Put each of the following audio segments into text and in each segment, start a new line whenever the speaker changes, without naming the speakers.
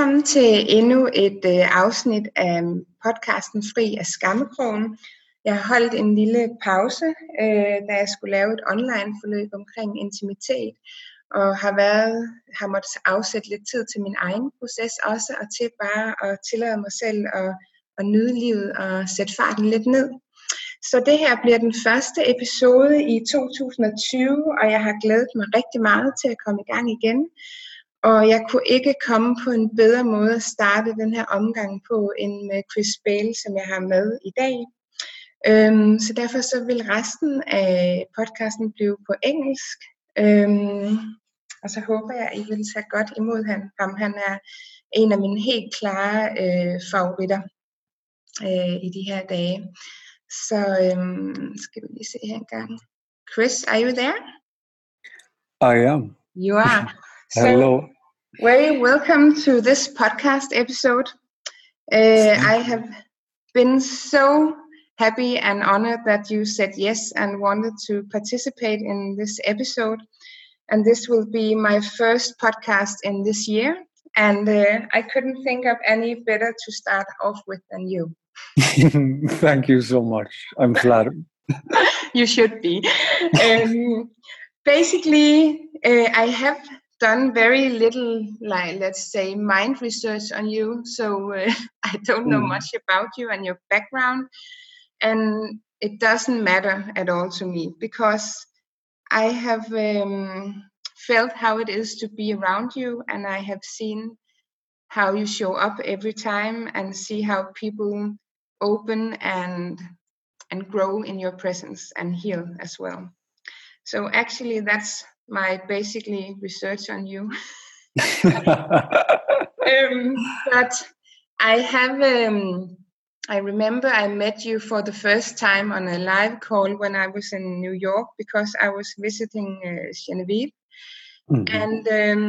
Velkommen til endnu et afsnit af podcasten Fri af Skammekrogen. Jeg har holdt en lille pause, da jeg skulle lave et online forløb omkring intimitet, og har måttet afsætte lidt tid til min egen proces også, og til bare at tillade mig selv at nyde livet og sætte farten lidt ned. Så det her bliver den første episode i 2020, og jeg har glædet mig rigtig meget til at komme i gang igen. Og jeg kunne ikke komme på en bedre måde at starte den her omgang på end med Chris Bail, som jeg har med i dag. Så derfor så vil resten af podcasten blive på engelsk. Og så håber jeg, at I vil tage godt imod ham. Han er en af mine helt klare favoritter i de her dage. Så skal vi lige se her en gang. Chris, are you there?
I am.
You are.
Hello.
Very welcome to this podcast episode. I have been so happy and honored that you said yes and wanted to participate in this episode. And this will be my first podcast in this year. And I couldn't think of any better to start off with than you.
Thank you so much. I'm flattered.
You should be. Basically, I have done very little, like, let's say, mind research on you. So I don't know much about you and your background. And it doesn't matter at all to me, because I have felt how it is to be around you, and I have seen how you show up every time and see how people open and grow in your presence and heal as well. So actually that's my basically research on you. But I have I remember I met you for the first time on a live call when I was in New York, because I was visiting Genevieve. And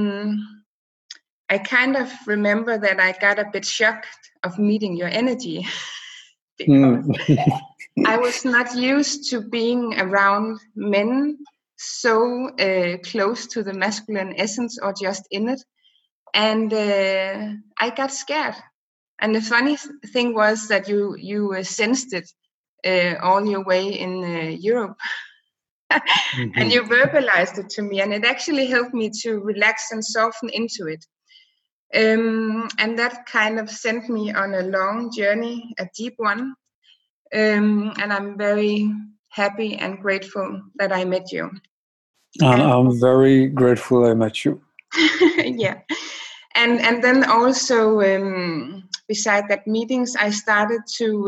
I kind of remember that I got a bit shocked of meeting your energy, because I was not used to being around men so close to the masculine essence or just in it. And I got scared. And the funny thing was that you sensed it all your way in Europe. And you verbalized it to me, and it actually helped me to relax and soften into it. And that kind of sent me on a long journey, a deep one. And I'm very happy and grateful that I met you.
And I'm very grateful I met you.
Yeah. And then also, beside that meetings, I started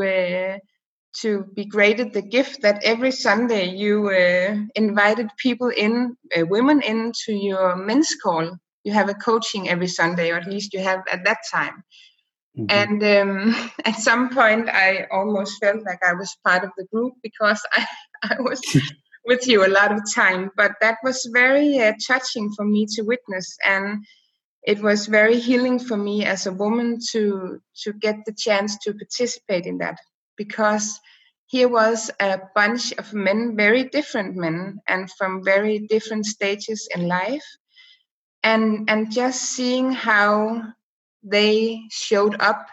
to be graded the gift that every Sunday you invited people in, women in, to your men's call. You have a coaching every Sunday, or at least you have at that time. And at some point I almost felt like I was part of the group, because I was with you a lot of time. But that was very touching for me to witness, and it was very healing for me as a woman to get the chance to participate in that, because here was a bunch of men, very different men, and from very different stages in life, and just seeing how they showed up,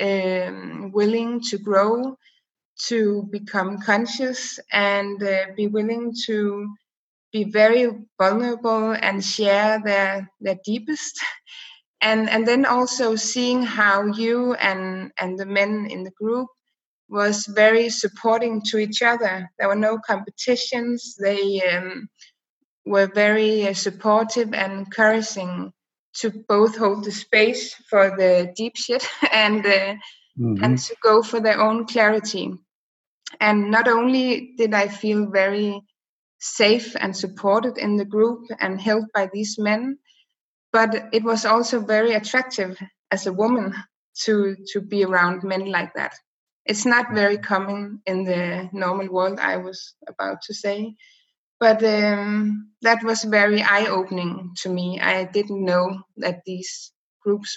willing to grow, to become conscious, and be willing to be very vulnerable and share their deepest. And then also seeing how you and the men in the group was very supporting to each other. There were no competitions. They were very supportive and encouraging to both hold the space for the deep shit and to go for their own clarity. And not only did I feel very safe and supported in the group and held by these men, but it was also very attractive as a woman to be around men like that. It's not very common in the normal world, I was about to say. But that was very eye-opening to me. I didn't know that these groups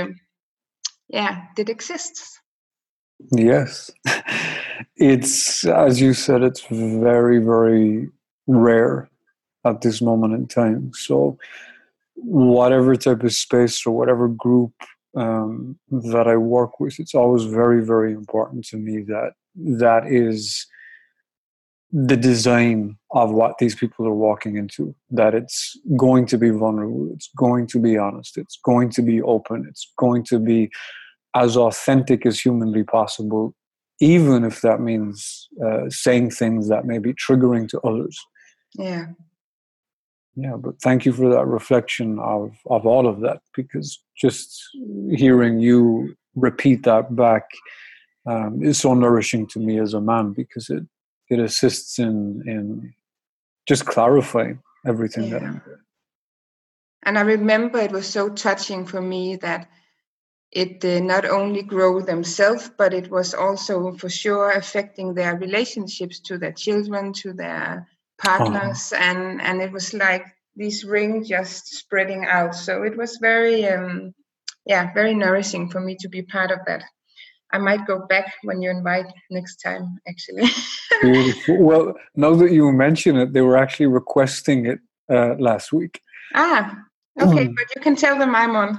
did exist.
Yes. It's, as you said, it's very, very rare at this moment in time. So whatever type of space or whatever group that I work with, it's always very, very important to me that is the design of what these people are walking into, that it's going to be vulnerable, it's going to be honest, it's going to be open, it's going to be as authentic as humanly possible, even if that means saying things that may be triggering to others.
Yeah.
Yeah, but thank you for that reflection of all of that, because just hearing you repeat that back is so nourishing to me as a man, because it assists in just clarifying everything that I'm doing.
And I remember it was so touching for me that it not only grow themselves, but it was also for sure affecting their relationships to their children, to their partners, and it was like this ring just spreading out. So it was very, very nourishing for me to be part of that. I might go back when you invite next time, actually.
Beautiful. Well, now that you mention it, they were actually requesting it last week.
Okay, but you can tell them I'm on.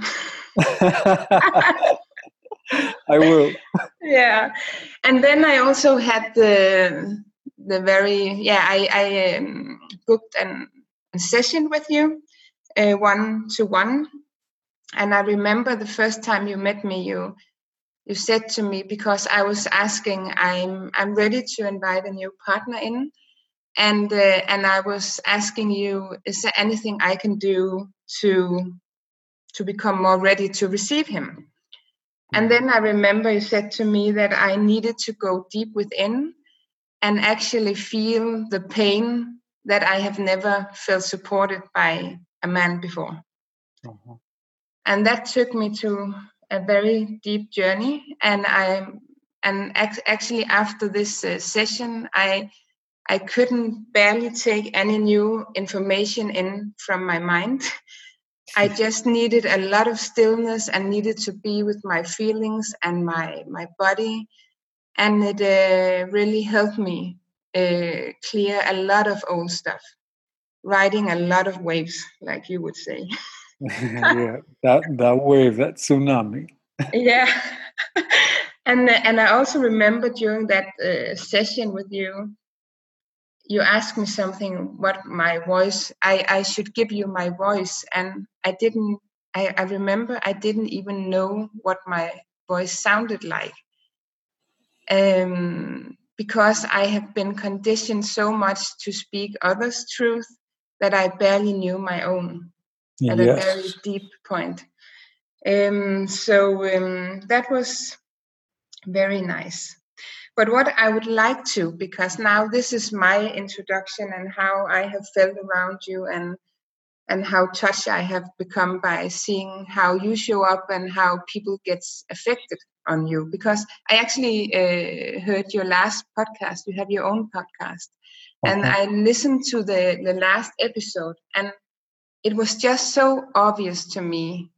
I will.
Yeah, and then I also had the very I booked a session with you, 1-to-1, and I remember the first time you met me, you said to me, because I was asking, I'm ready to invite a new partner in, and I was asking you, is there anything I can do to become more ready to receive him? And then I remember you said to me that I needed to go deep within and actually feel the pain that I have never felt supported by a man before. Uh-huh. And that took me to a very deep journey. And actually after this session, I couldn't barely take any new information in from my mind. I just needed a lot of stillness and needed to be with my feelings and my body. And it really helped me clear a lot of old stuff, riding a lot of waves, like you would say.
Yeah, that wave, that tsunami.
Yeah. And I also remember during that session with you, you asked me something, what my voice, I should give you my voice. And I remember I didn't even know what my voice sounded like. Because I have been conditioned so much to speak others' truth that I barely knew my own at a very deep point. So that was very nice. But what I would like to, because now this is my introduction and how I have felt around you and how touched I have become by seeing how you show up and how people get affected on you. Because I actually heard your last podcast. You have your own podcast. Uh-huh. And I listened to the last episode, and it was just so obvious to me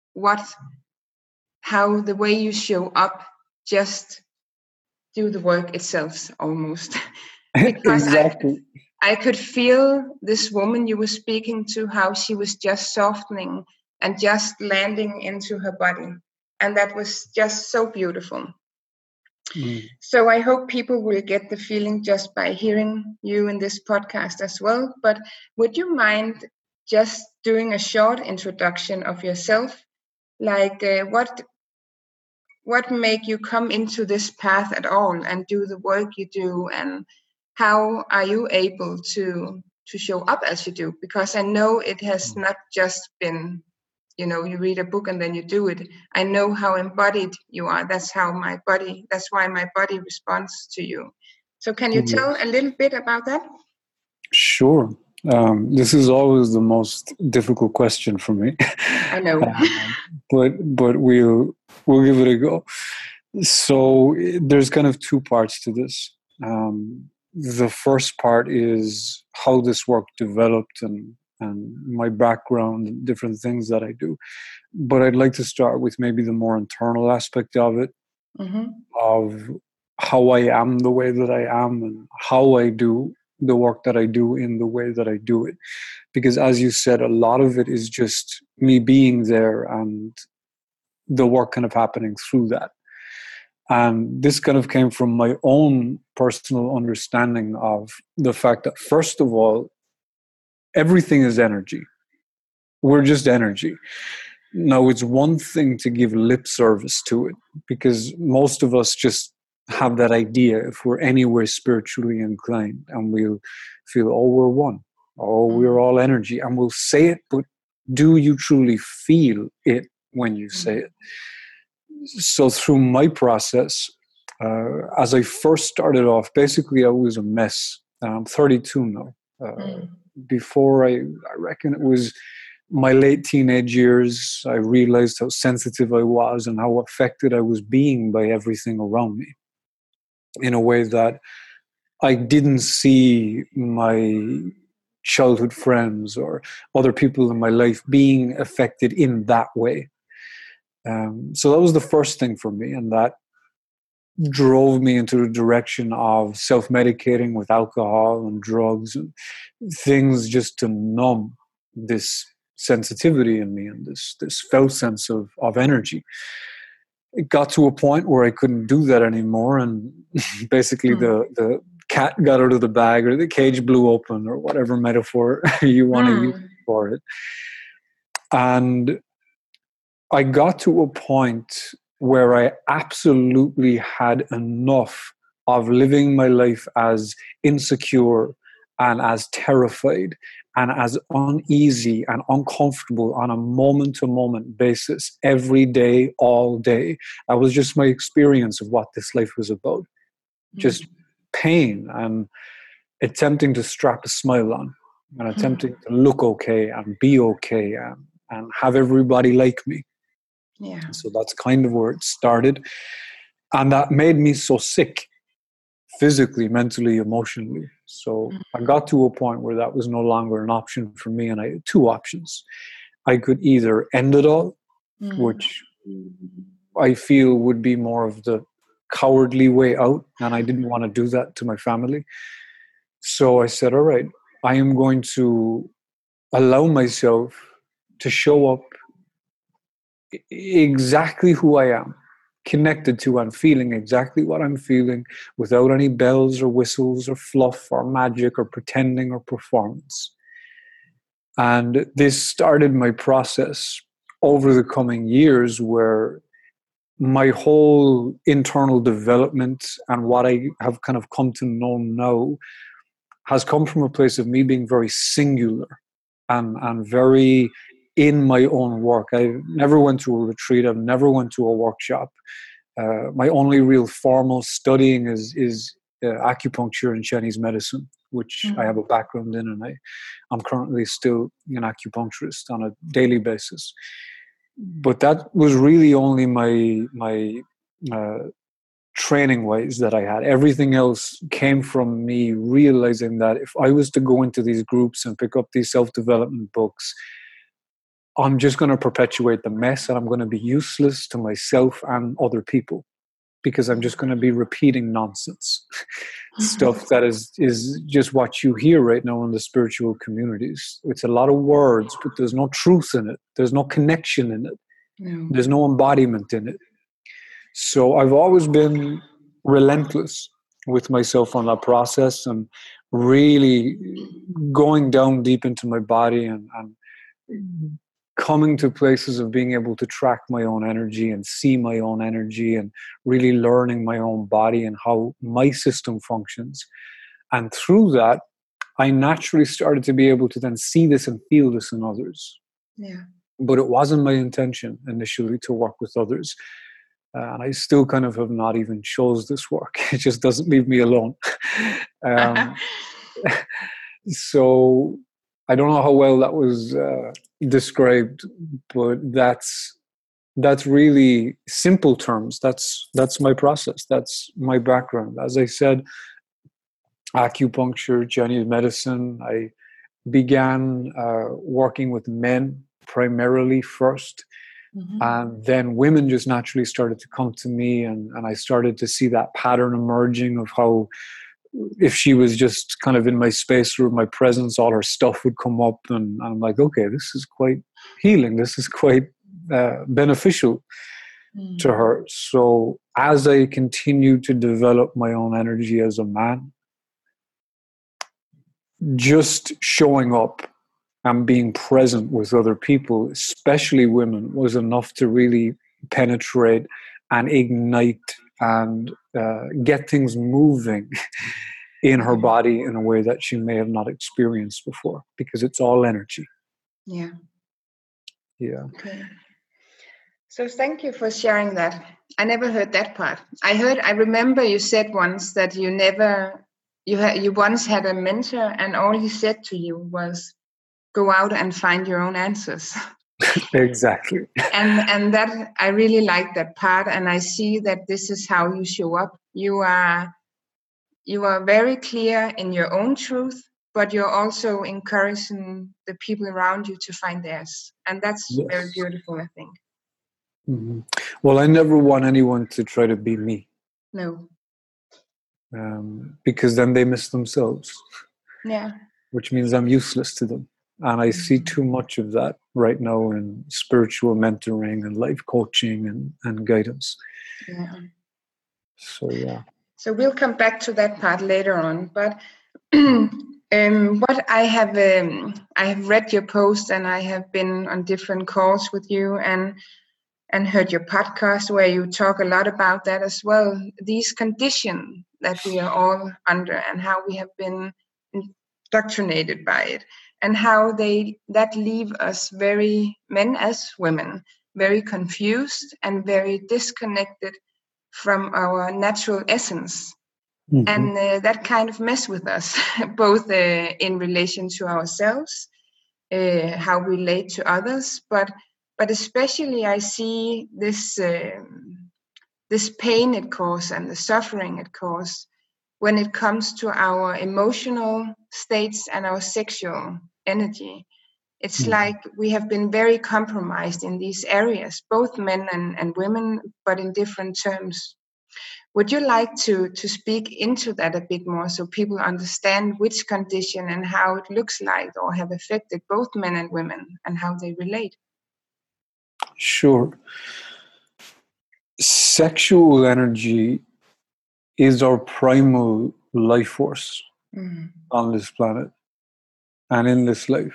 how the way you show up just do the work itself almost. Because exactly. I could feel this woman you were speaking to, how she was just softening and just landing into her body. And that was just so beautiful. So I hope people will get the feeling just by hearing you in this podcast as well. But would you mind just doing a short introduction of yourself? Like what make you come into this path at all and do the work you do, and how are you able to show up as you do? Because I know it has not just been, you read a book and then you do it. I know how embodied you are. That's why my body responds to you. So can you tell a little bit about that?
Sure. This is always the most difficult question for me.
I know.
But we'll give it a go. So there's kind of two parts to this. The first part is how this work developed and my background and different things that I do. But I'd like to start with maybe the more internal aspect of it, of how I am the way that I am and how I do the work that I do in the way that I do it. Because as you said, a lot of it is just me being there and the work kind of happening through that. And this kind of came from my own personal understanding of the fact that, first of all, everything is energy. We're just energy. Now, it's one thing to give lip service to it, because most of us just have that idea if we're anywhere spiritually inclined, and we'll feel, oh, we're one, oh, we're all energy, and we'll say it, but do you truly feel it when you say it? So through my process, as I first started off, basically I was a mess. I'm 32 now. Before I reckon it was my late teenage years, I realized how sensitive I was and how affected I was being by everything around me, in a way that I didn't see my childhood friends or other people in my life being affected in that way. So that was the first thing for me, and that drove me into the direction of self-medicating with alcohol and drugs and things just to numb this sensitivity in me and this felt sense of energy. It got to a point where I couldn't do that anymore, and basically the cat got out of the bag, or the cage blew open, or whatever metaphor you want to use for it. And I got to a point where I absolutely had enough of living my life as insecure and as terrified and as uneasy and uncomfortable on a moment-to-moment basis every day, all day. That was just my experience of what this life was about. Just pain and attempting to strap a smile on and attempting to look okay and be okay and have everybody like me. Yeah. So that's kind of where it started. And that made me so sick, physically, mentally, emotionally. So I got to a point where that was no longer an option for me. And I had two options. I could either end it all, which I feel would be more of the cowardly way out. And I didn't want to do that to my family. So I said, all right, I am going to allow myself to show up exactly who I am, connected to and feeling exactly what I'm feeling, without any bells or whistles or fluff or magic or pretending or performance. And this started my process over the coming years, where my whole internal development and what I have kind of come to know now has come from a place of me being very singular and very in my own work. I never went to a retreat. I've never went to a workshop. My only real formal studying is acupuncture and Chinese medicine, which I have a background in, and I'm currently still an acupuncturist on a daily basis. But that was really only my training ways that I had. Everything else came from me realizing that if I was to go into these groups and pick up these self-development books, I'm just going to perpetuate the mess, and I'm going to be useless to myself and other people, because I'm just going to be repeating nonsense. Stuff that is just what you hear right now in the spiritual communities. It's a lot of words, but there's no truth in it. There's no connection in it. No. There's no embodiment in it. So I've always been relentless with myself on that process, and really going down deep into my body and coming to places of being able to track my own energy and see my own energy, and really learning my own body and how my system functions. And through that, I naturally started to be able to then see this and feel this in others. Yeah. But it wasn't my intention initially to work with others. And I still kind of have not even chose this work. It just doesn't leave me alone. So I don't know how well that was described, but that's really simple terms. That's my process. That's my background. As I said, acupuncture, Chinese medicine. I began working with men primarily first. And then women just naturally started to come to me, and I started to see that pattern emerging of how, if she was just kind of in my space or my presence, all her stuff would come up, and I'm like, okay, this is quite healing. This is quite beneficial. to her. So as I continue to develop my own energy as a man, just showing up and being present with other people, especially women, was enough to really penetrate and ignite and get things moving in her body in a way that she may have not experienced before, because it's all energy.
Yeah.
Okay.
So thank you for sharing that. I never heard that part. I remember you said once that you once had a mentor and all he said to you was, go out and find your own answers.
Exactly.
And that, I really like that part, and I see that this is how you show up. You are very clear in your own truth, but you're also encouraging the people around you to find theirs, and that's very beautiful, I think.
Mm-hmm. Well, I never want anyone to try to be me.
No.
Because then they miss themselves.
Yeah.
Which means I'm useless to them. And I see too much of that right now in spiritual mentoring and life coaching and guidance.
Yeah.
So, yeah.
So we'll come back to that part later on. But what I have read your post, and I have been on different calls with you and heard your podcast where you talk a lot about that as well. These conditions that we are all under and how we have been indoctrinated by it, and how that leave us, very men as women, very confused and very disconnected from our natural essence. Mm-hmm. And that kind of mess with us, both in relation to ourselves, how we relate to others, but especially I see this pain it causes and the suffering it causes when it comes to our emotional states and our sexual energy. It's like we have been very compromised in these areas, both men and women, but in different terms. Would you like to speak into that a bit more so people understand which condition and how it looks like or have affected both men and women and how they relate?
Sure. Sexual energy is our primal life force on this planet and in this life.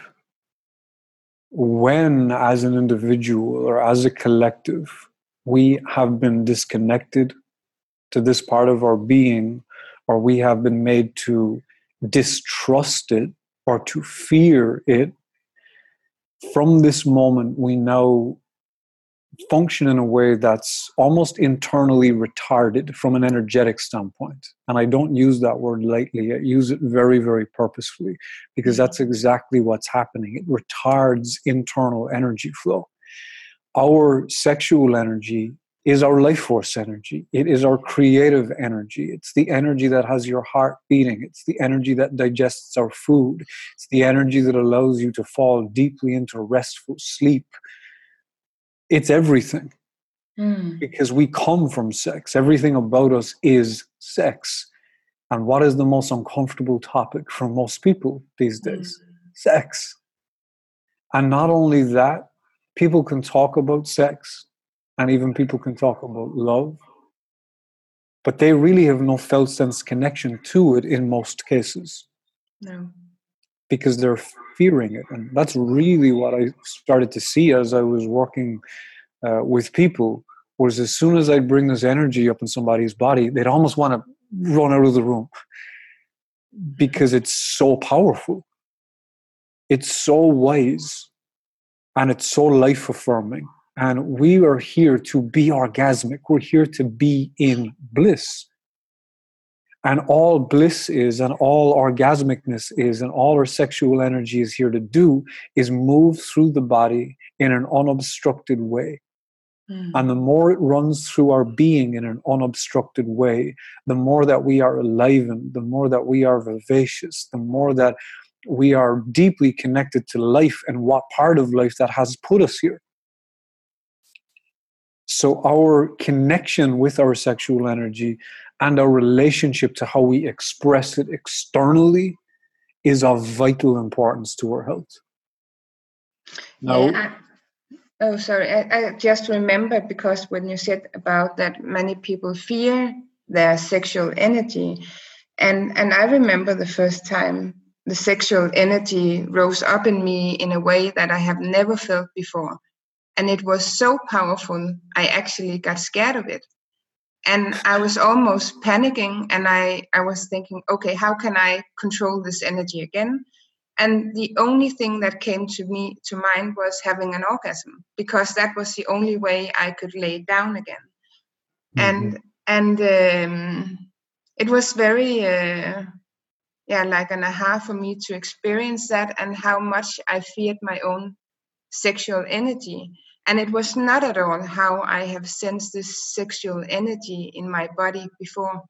When, as an individual or as a collective, we have been disconnected to this part of our being, or we have been made to distrust it or to fear it, from this moment we now function in a way that's almost internally retarded from an energetic standpoint. And I don't use that word lightly. I use it very, very purposefully, because that's exactly what's happening. It retards internal energy flow. Our sexual energy is our life force energy. It is our creative energy. It's the energy that has your heart beating. It's the energy that digests our food. It's the energy that allows you to fall deeply into restful sleep. It's everything. Because we come from sex. Everything about us is sex. And what is the most uncomfortable topic for most people these days? Sex. And not only that, people can talk about sex, and even people can talk about love, but they really have no felt sense connection to it in most cases.
No.
Because they're fearing it. And that's really what I started to see as I was working with people, was as soon as I'd bring this energy up in somebody's body, they'd almost want to run out of the room, because it's so powerful. It's so wise, and it's so life affirming. And we are here to be orgasmic. We're here to be in bliss. And all bliss is, and all orgasmicness is, and all our sexual energy is here to do is move through the body in an unobstructed way. And the more it runs through our being in an unobstructed way, the more that we are enlivened, the more that we are vivacious, the more that we are deeply connected to life and what part of life that has put us here. So our connection with our sexual energy and our relationship to how we express it externally is of vital importance to our health. Now,
Oh, sorry. I just remembered, because when you said about that many people fear their sexual energy, and I remember the first time the sexual energy rose up in me in a way that I have never felt before. And it was so powerful, I actually got scared of it. And I was almost panicking, and I was thinking, okay, how can I control this energy again? And the only thing that came to mind was having an orgasm, because that was the only way I could lay down again.
Mm-hmm.
And it was very like an aha for me to experience that, and how much I feared my own sexual energy. And it was not at all how I have sensed this sexual energy in my body before.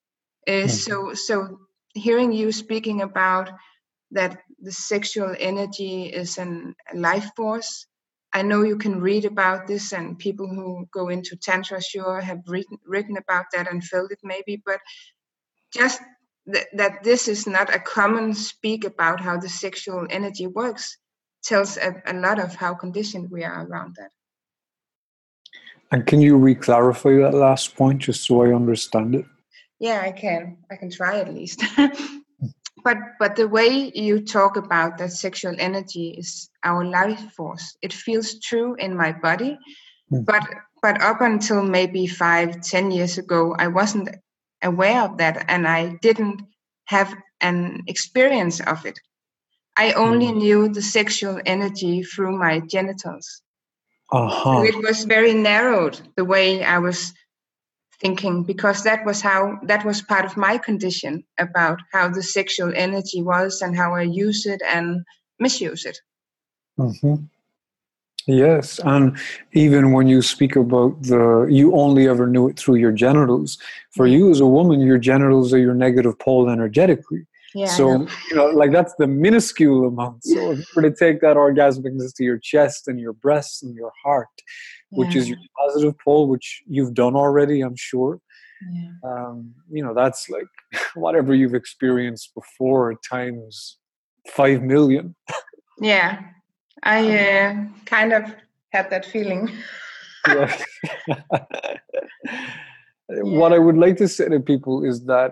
So hearing you speaking about that the sexual energy is a life force. I know you can read about this, and people who go into Tantra sure have written about that and felt it maybe, but just that this is not a common speak about how the sexual energy works tells a lot of how conditioned we are around that.
And can you re-clarify that last point just so I understand it?
Yeah, I can try at least. But the way you talk about that sexual energy is our life force. It feels true in my body, but up until maybe 5-10 years ago, I wasn't aware of that, and I didn't have an experience of it. I only knew the sexual energy through my genitals. So it was very narrowed, the way I was thinking, because that was part of my condition about how the sexual energy was and how I use it and misuse it.
Mm-hmm. Yes, and even when you speak about you only ever knew it through your genitals. For you as a woman, your genitals are your negative pole energetically.
Yeah,
so like that's the minuscule amount. So if you were to take that orgasmic to your chest and your breasts and your heart, which is your positive pole, which you've done already, I'm sure. That's like whatever you've experienced before times 5 million.
Yeah, I kind of had that feeling.
Yeah. What I would like to say to people is that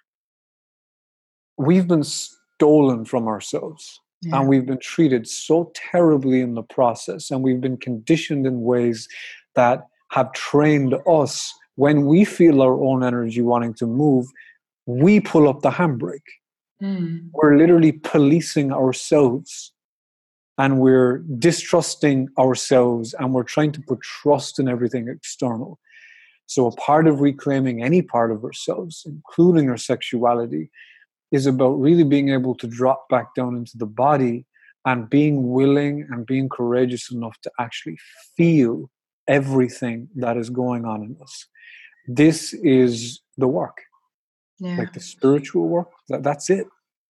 we've been stolen from ourselves, and we've been treated so terribly in the process, and we've been conditioned in ways that have trained us. When we feel our own energy wanting to move, we pull up the handbrake. We're literally policing ourselves, and we're distrusting ourselves, and we're trying to put trust in everything external. So a part of reclaiming any part of ourselves, including our sexuality, is about really being able to drop back down into the body and being willing and being courageous enough to actually feel everything that is going on in us. This is the work, like the spiritual work. That's it.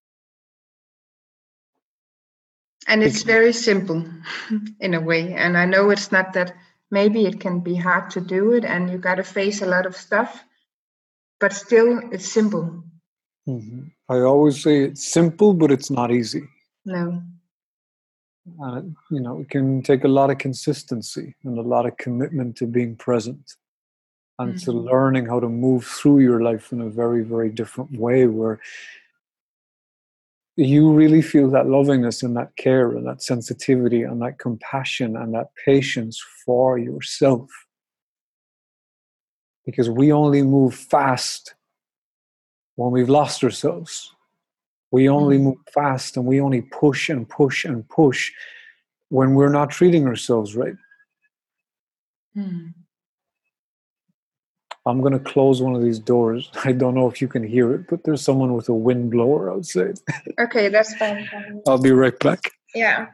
And it's very simple in a way. And I know it's not that, maybe it can be hard to do it and you got to face a lot of stuff, but still it's simple.
Mm-hmm. I always say it's simple, but it's not easy.
No.
It can take a lot of consistency and a lot of commitment to being present and to learning how to move through your life in a very, very different way, where you really feel that lovingness and that care and that sensitivity and that compassion and that patience for yourself. Because we only move fast when we've lost ourselves. We only move fast and we only push and push and push when we're not treating ourselves right. I'm going to close one of these doors. I don't know if you can hear it, but there's someone with a wind blower outside.
Okay, that's fine.
I'll be right back.
Yeah.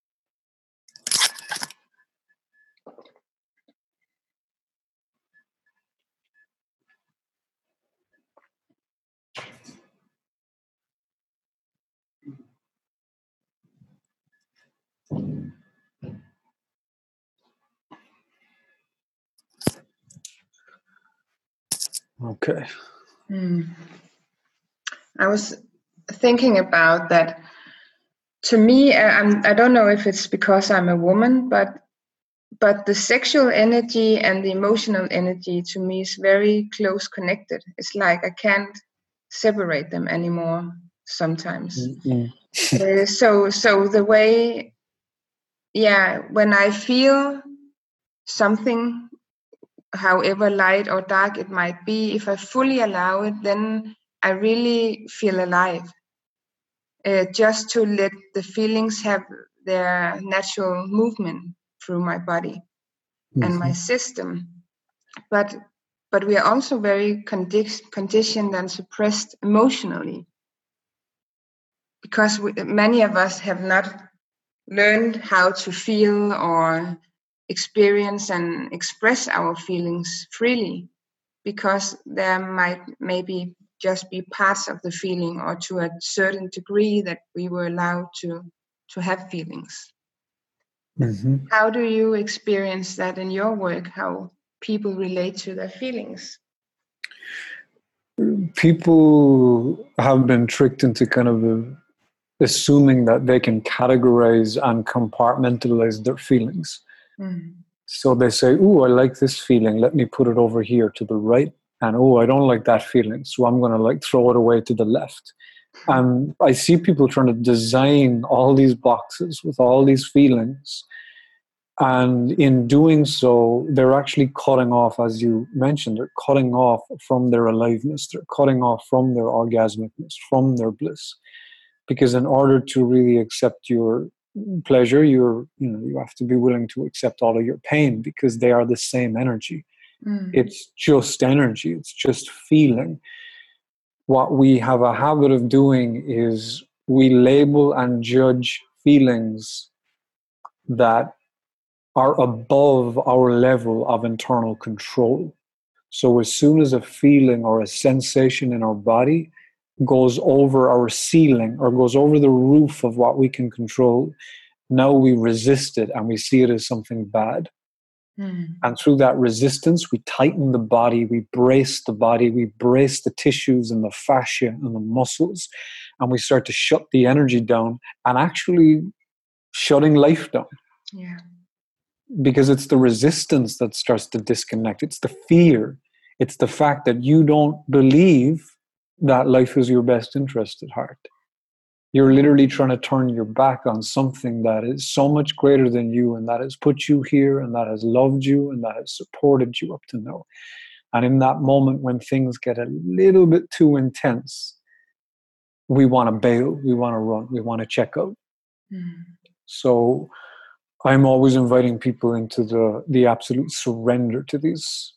Okay.
I was thinking about that. To me, I don't know if it's because I'm a woman, but but the sexual energy and the emotional energy to me is very close connected. It's like I can't separate them anymore sometimes. So the way, when I feel something, however light or dark it might be, if I fully allow it, then I really feel alive. Just to let the feelings have their natural movement through my body and my system. But we are also very conditioned and suppressed emotionally, because many of us have not learned how to feel or experience and express our feelings freely, because there might maybe just be parts of the feeling, or to a certain degree that we were allowed to have feelings. How do you experience that in your work, how people relate to their feelings?
People have been tricked into kind of assuming that they can categorize and compartmentalize their feelings. So they say, "Oh, I like this feeling. Let me put it over here to the right. And oh, I don't like that feeling. So I'm going to throw it away to the left." And I see people trying to design all these boxes with all these feelings. And in doing so, they're actually cutting off, as you mentioned, they're cutting off from their aliveness. They're cutting off from their orgasmicness, from their bliss. Because in order to really accept your pleasure, you have to be willing to accept all of your pain, because they are the same energy. It's just energy. It's just feeling. What we have a habit of doing is we label and judge feelings that are above our level of internal control. So as soon as a feeling or a sensation in our body goes over our ceiling or goes over the roof of what we can control, now we resist it and we see it as something bad. And through that resistance, we tighten the body, we brace the tissues and the fascia and the muscles, and we start to shut the energy down, and actually shutting life down.
Yeah.
Because it's the resistance that starts to disconnect. It's the fear. It's the fact that you don't believe that life is your best interest at heart. You're literally trying to turn your back on something that is so much greater than you, and that has put you here, and that has loved you, and that has supported you up to now. And in that moment when things get a little bit too intense, we want to bail, we want to run, we want to check out. So I'm always inviting people into the absolute surrender to these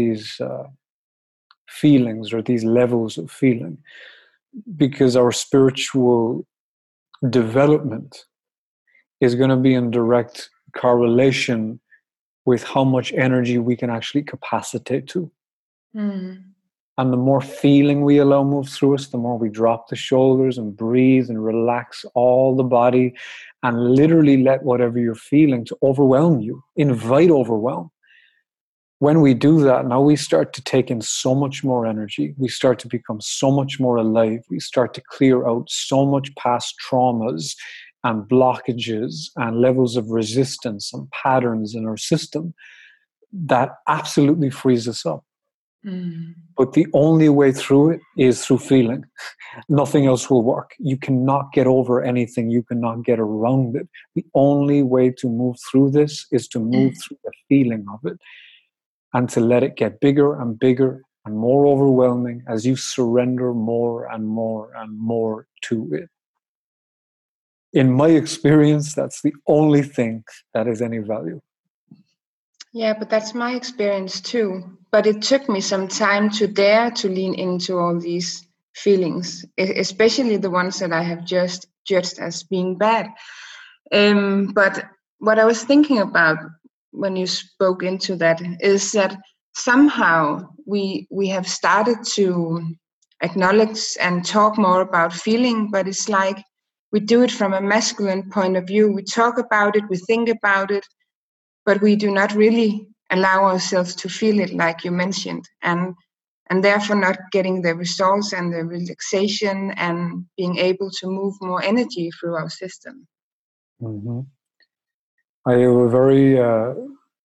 feelings, or these levels of feeling, because our spiritual development is going to be in direct correlation with how much energy we can actually capacitate to. And the more feeling we allow move through us, the more we drop the shoulders and breathe and relax all the body, and literally let whatever you're feeling to overwhelm you. Invite overwhelm. When we do that, now we start to take in so much more energy. We start to become so much more alive. We start to clear out so much past traumas and blockages and levels of resistance and patterns in our system that absolutely frees us up. But the only way through it is through feeling. Nothing else will work. You cannot get over anything. You cannot get around it. The only way to move through this is to move through the feeling of it, and to let it get bigger and bigger and more overwhelming as you surrender more and more and more to it. In my experience, that's the only thing that has any value.
Yeah, but that's my experience too. But it took me some time to dare to lean into all these feelings, especially the ones that I have just judged as being bad. But what I was thinking about when you spoke into that is that somehow we have started to acknowledge and talk more about feeling, but it's like we do it from a masculine point of view. We talk about it, we think about it, but we do not really allow ourselves to feel it, like you mentioned, and therefore not getting the results and the relaxation and being able to move more energy through our system.
I have a very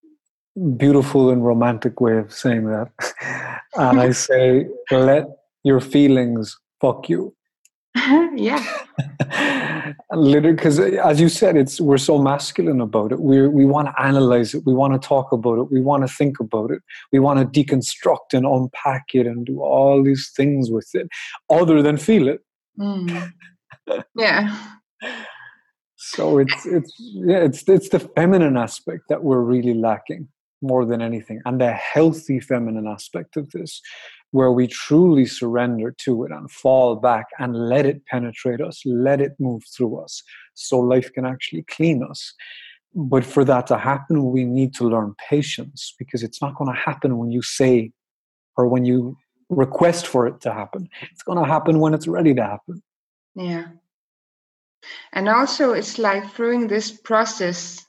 beautiful and romantic way of saying that. And I say, let your feelings fuck you.
Yeah.
Literally, because as you said, we're so masculine about it. We want to analyze it. We want to talk about it. We want to think about it. We want to deconstruct and unpack it and do all these things with it, other than feel it.
Yeah.
So it's the feminine aspect that we're really lacking more than anything, and the healthy feminine aspect of this, where we truly surrender to it and fall back and let it penetrate us, let it move through us, so life can actually clean us. But for that to happen, we need to learn patience, because it's not going to happen when you say or when you request for it to happen. It's going to happen when it's ready to happen.
Yeah. And also, it's like through this process,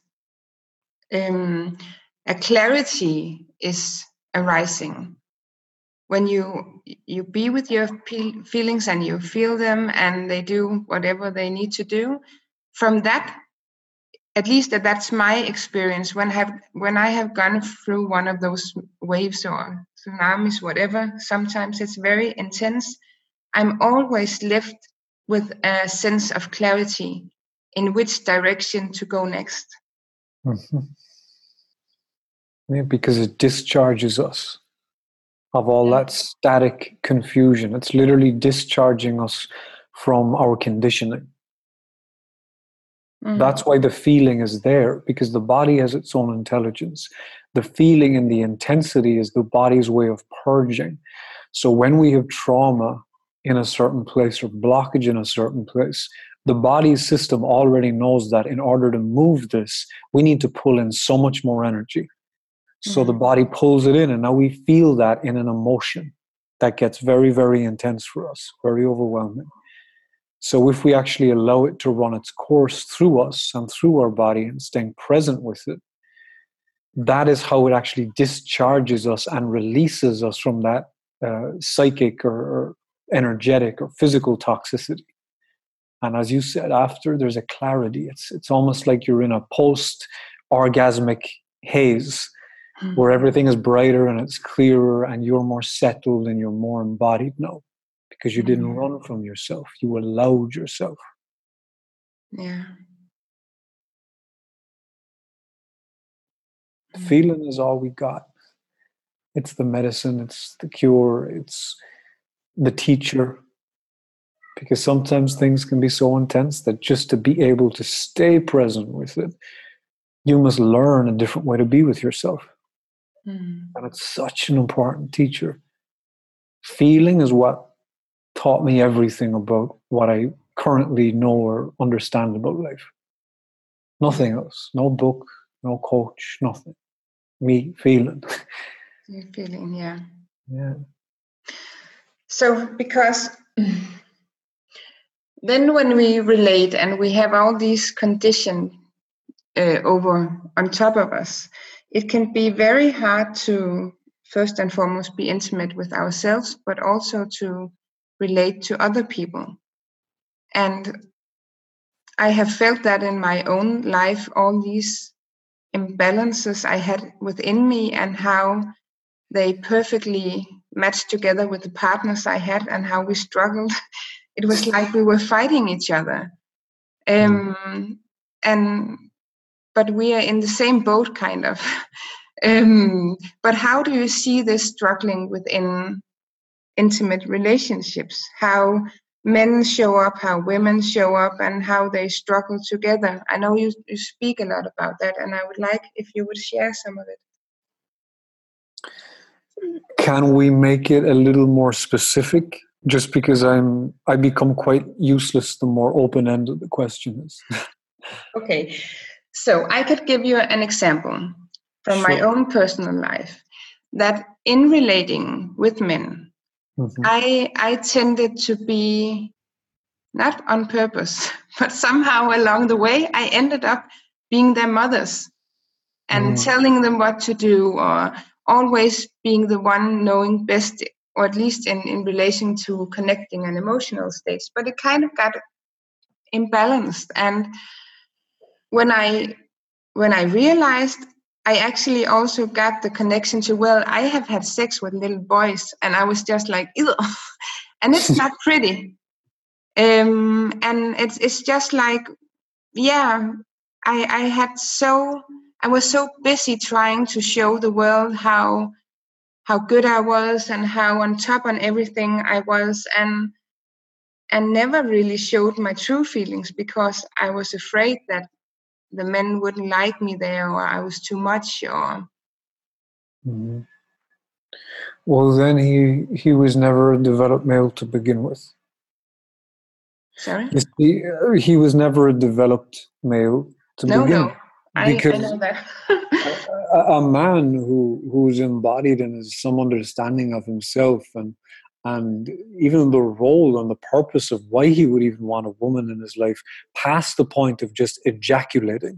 a clarity is arising. When you be with your feelings and you feel them and they do whatever they need to do, from that, at least that's my experience, when I have gone through one of those waves or tsunamis, whatever, sometimes it's very intense, I'm always left with a sense of clarity in which direction to go next.
Mm-hmm. Yeah, because it discharges us of all that static confusion. It's literally discharging us from our conditioning. Mm-hmm. That's why the feeling is there, because the body has its own intelligence. The feeling and the intensity is the body's way of purging. So when we have trauma in a certain place or blockage in a certain place, the body's system already knows that in order to move this, we need to pull in so much more energy. So the body pulls it in, and now we feel that in an emotion that gets very, very intense for us, very overwhelming. So if we actually allow it to run its course through us and through our body and staying present with it, that is how it actually discharges us and releases us from that psychic or energetic or physical toxicity. And as you said, after, there's a clarity. It's almost like you're in a post-orgasmic haze where everything is brighter and it's clearer and you're more settled and you're more embodied now, because you didn't run from yourself. You allowed yourself.
Yeah.
Feeling is all we got. It's the medicine, it's the cure, it's the teacher. Because sometimes things can be so intense that just to be able to stay present with it, you must learn a different way to be with yourself. And it's such an important teacher. Feeling is what taught me everything about what I currently know or understand about life. Nothing else. No book, no coach, nothing. Me feeling.
You're feeling, yeah.
Yeah.
So, because then when we relate and we have all these conditions over on top of us, it can be very hard to first and foremost be intimate with ourselves, but also to relate to other people. And I have felt that in my own life, all these imbalances I had within me and how they perfectly matched together with the partners I had and how we struggled. It was like we were fighting each other. But we are in the same boat, kind of. But how do you see this struggling within intimate relationships? How men show up, how women show up, and how they struggle together? I know you speak a lot about that, and I would like if you would share some of it.
Can we make it a little more specific? Just because I become quite useless the more open-ended the question is.
Okay, so I could give you an example from my own personal life, that in relating with men, I tended to be, not on purpose, but somehow along the way, I ended up being their mothers and telling them what to do, or always being the one knowing best, or at least in relation to connecting an emotional stage. But it kind of got imbalanced. And when I realized I actually also got the connection to, well, I have had sex with little boys, and I was just like, ew. And it's not pretty. And it's just like, yeah, I was so busy trying to show the world how good I was and how on top on everything I was, and never really showed my true feelings because I was afraid that the men wouldn't like me there, or I was too much, or.
Mm-hmm. Well, then he was never a developed male to begin with.
Sorry?
He was never a developed male to begin with.
I know that.
a man who's embodied and has some understanding of himself and even the role and the purpose of why he would even want a woman in his life, past the point of just ejaculating.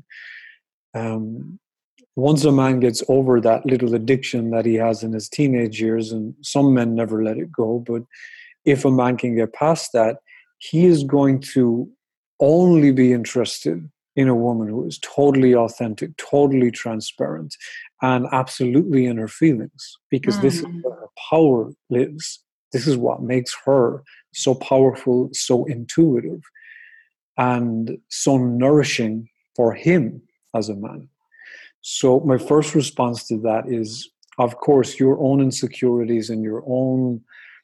Once a man gets over that little addiction that he has in his teenage years, and some men never let it go, but if a man can get past that, he is going to only be interested in a woman who is totally authentic, totally transparent, and absolutely in her feelings, because this is where her power lives. This is what makes her so powerful, so intuitive, and so nourishing for him as a man. So my first response to that is, of course, your own insecurities and your own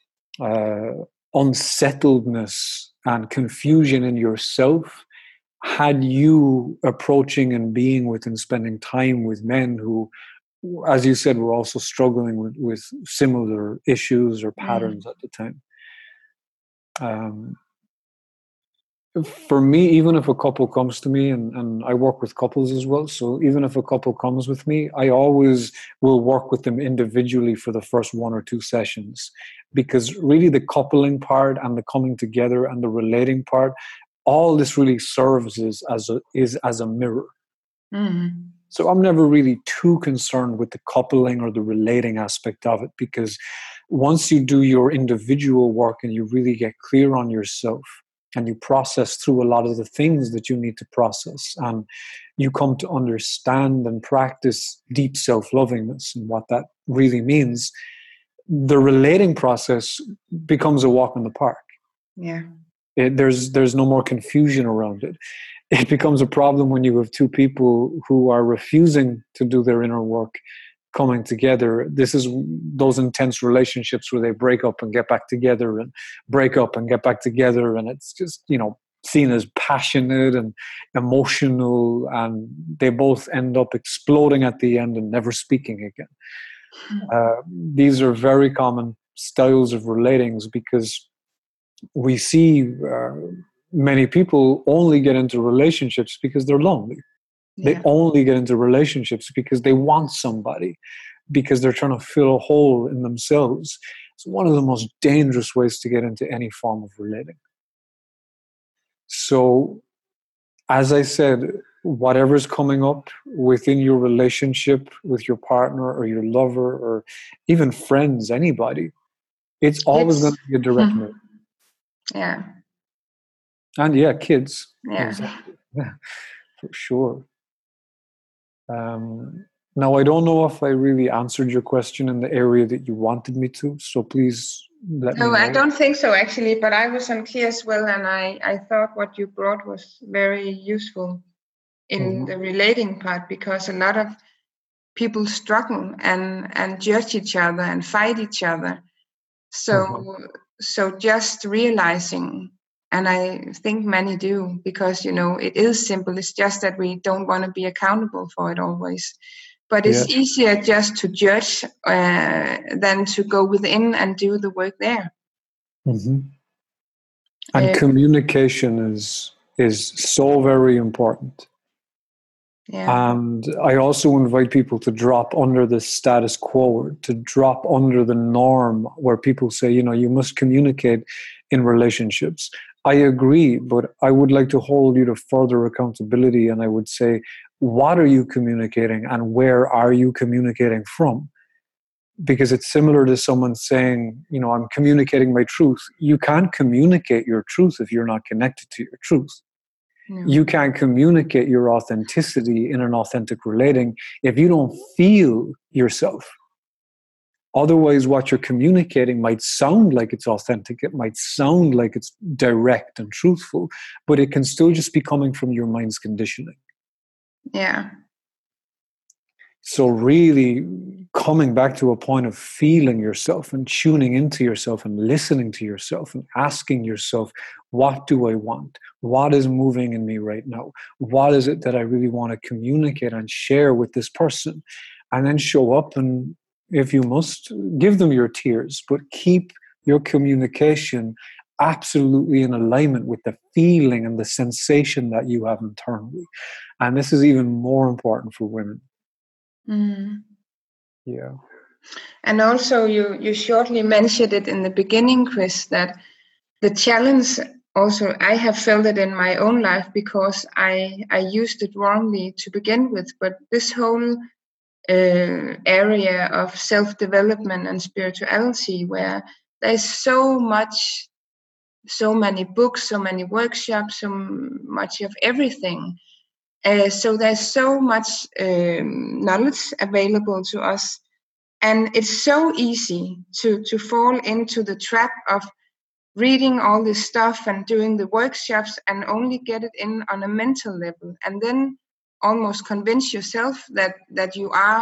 unsettledness and confusion in yourself had you approaching and being with and spending time with men who, as you said, were also struggling with similar issues or patterns at the time. For me, even if a couple comes to me, and I work with couples as well, so even if a couple comes with me, I always will work with them individually for the first 1 or 2 sessions, because really the coupling part and the coming together and the relating part, all this really serves as a mirror. So I'm never really too concerned with the coupling or the relating aspect of it, because once you do your individual work and you really get clear on yourself, and you process through a lot of the things that you need to process, and you come to understand and practice deep self-lovingness and what that really means, the relating process becomes a walk in the park.
Yeah.
There's no more confusion around it. It becomes a problem when you have 2 people who are refusing to do their inner work coming together. This is those intense relationships where they break up and get back together and break up and get back together, and it's just, seen as passionate and emotional, and they both end up exploding at the end and never speaking again. These are very common styles of relatings, because we see many people only get into relationships because they're lonely. They only get into relationships because they want somebody, because they're trying to fill a hole in themselves. It's one of the most dangerous ways to get into any form of relating. So, as I said, whatever's coming up within your relationship with your partner or your lover or even friends, anybody, it's always going to be a direct move.
Yeah.
And kids.
Yeah.
Exactly. Yeah, for sure. Now, I don't know if I really answered your question in the area that you wanted me to, so please let me know.
No, I don't think so, actually, but I was unclear as well, and I thought what you brought was very useful in the relating part, because a lot of people struggle and judge each other and fight each other. So just realizing, and I think many do, because, it is simple. It's just that we don't want to be accountable for it always. But it's easier just to judge than to go within and do the work there.
And communication is so very important.
Yeah.
And I also invite people to drop under the status quo, to drop under the norm where people say, you must communicate in relationships. I agree, but I would like to hold you to further accountability. And I would say, what are you communicating and where are you communicating from? Because it's similar to someone saying, I'm communicating my truth. You can't communicate your truth if you're not connected to your truth.
No.
You can't communicate your authenticity in an authentic relating if you don't feel yourself. Otherwise, what you're communicating might sound like it's authentic. It might sound like it's direct and truthful, but it can still just be coming from your mind's conditioning.
Yeah.
So really coming back to a point of feeling yourself and tuning into yourself and listening to yourself and asking yourself, what do I want? What is moving in me right now? What is it that I really want to communicate and share with this person? And then show up and, if you must, give them your tears, but keep your communication absolutely in alignment with the feeling and the sensation that you have internally. And this is even more important for women.
Mm.
Yeah.
And also you shortly mentioned it in the beginning, Chris, that the challenge also, I have felt it in my own life because I used it wrongly to begin with, but this whole area of self-development and spirituality, where there's so many books, so many workshops, so much of everything. So there's so much knowledge available to us, and it's so easy to fall into the trap of reading all this stuff and doing the workshops and only get it in on a mental level, and then almost convince yourself that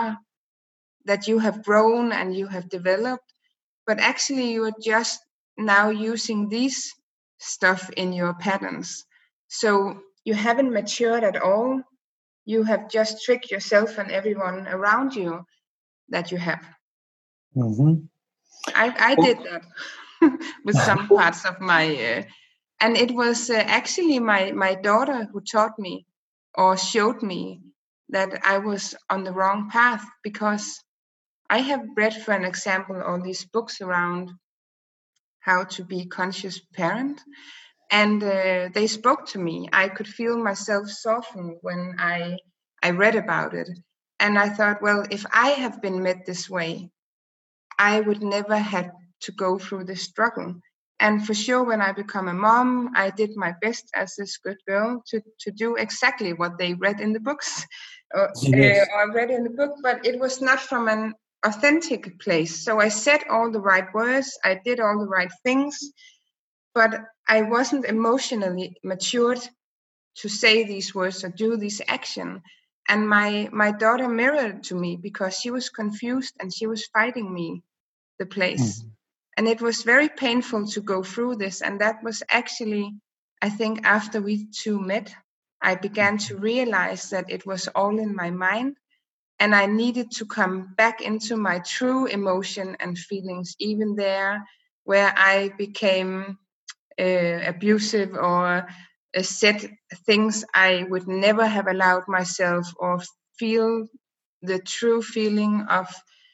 you have grown and you have developed, but actually you are just now using these stuff in your patterns. So you haven't matured at all. You have just tricked yourself and everyone around you that you have.
Mm-hmm.
I did that with some parts of my, and it was actually my daughter who taught me or showed me that I was on the wrong path, because I have read, for an example, all these books around how to be conscious parent, and they spoke to me. I could feel myself soften when I read about it, and I thought, well, if I have been met this way, I would never have to go through this struggle. And for sure, when I become a mom, I did my best as this good girl to do exactly what they read in the books,
Yes.
or read in the book, but it was not from an authentic place. So I said all the right words, I did all the right things, but I wasn't emotionally matured to say these words or do this action. And my daughter mirrored to me because she was confused and she was fighting me the place.
Mm-hmm.
And it was very painful to go through this. And that was actually, I think, after we two met, I began to realize that it was all in my mind. And I needed to come back into my true emotion and feelings, even there where I became abusive or said things I would never have allowed myself, or feel the true feeling of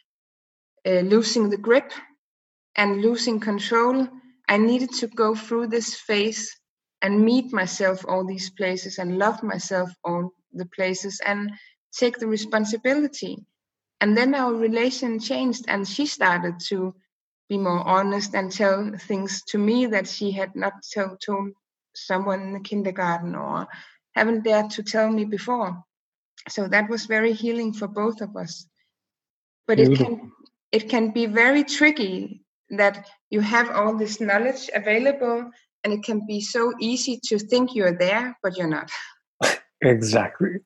losing the grip and losing control. I needed to go through this phase and meet myself all these places and love myself all the places and take the responsibility. And then our relation changed, and she started to be more honest and tell things to me that she had not told someone in the kindergarten or haven't dared to tell me before. So that was very healing for both of us. But
Beautiful.
it can be very tricky that you have all this knowledge available, and it can be so easy to think you're there, but you're not.
Exactly.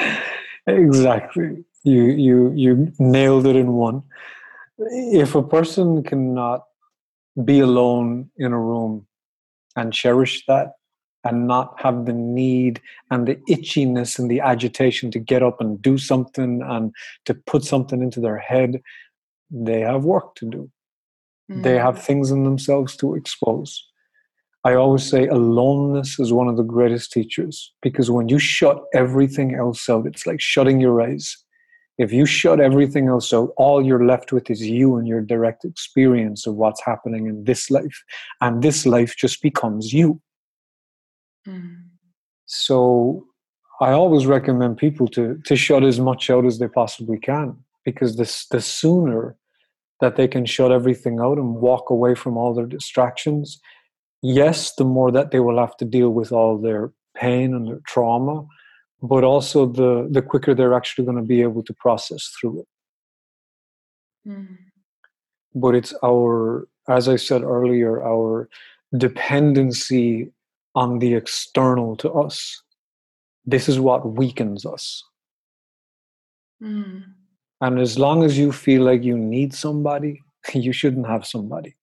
Exactly. You nailed it in one. If a person cannot be alone in a room and cherish that and not have the need and the itchiness and the agitation to get up and do something and to put something into their head, they have work to do. They have things in themselves to expose. I always say aloneness is one of the greatest teachers, because when you shut everything else out, it's like shutting your eyes. If you shut everything else out, all you're left with is you and your direct experience of what's happening in this life. And this life just becomes you. So I always recommend people to shut as much out as they possibly can, because the sooner that they can shut everything out and walk away from all their distractions, yes, the more that they will have to deal with all their pain and their trauma, but also the quicker they're actually going to be able to process through it. But it's our, as I said earlier, our dependency on the external to us. This is what weakens us. And as long as you feel like you need somebody, you shouldn't have somebody.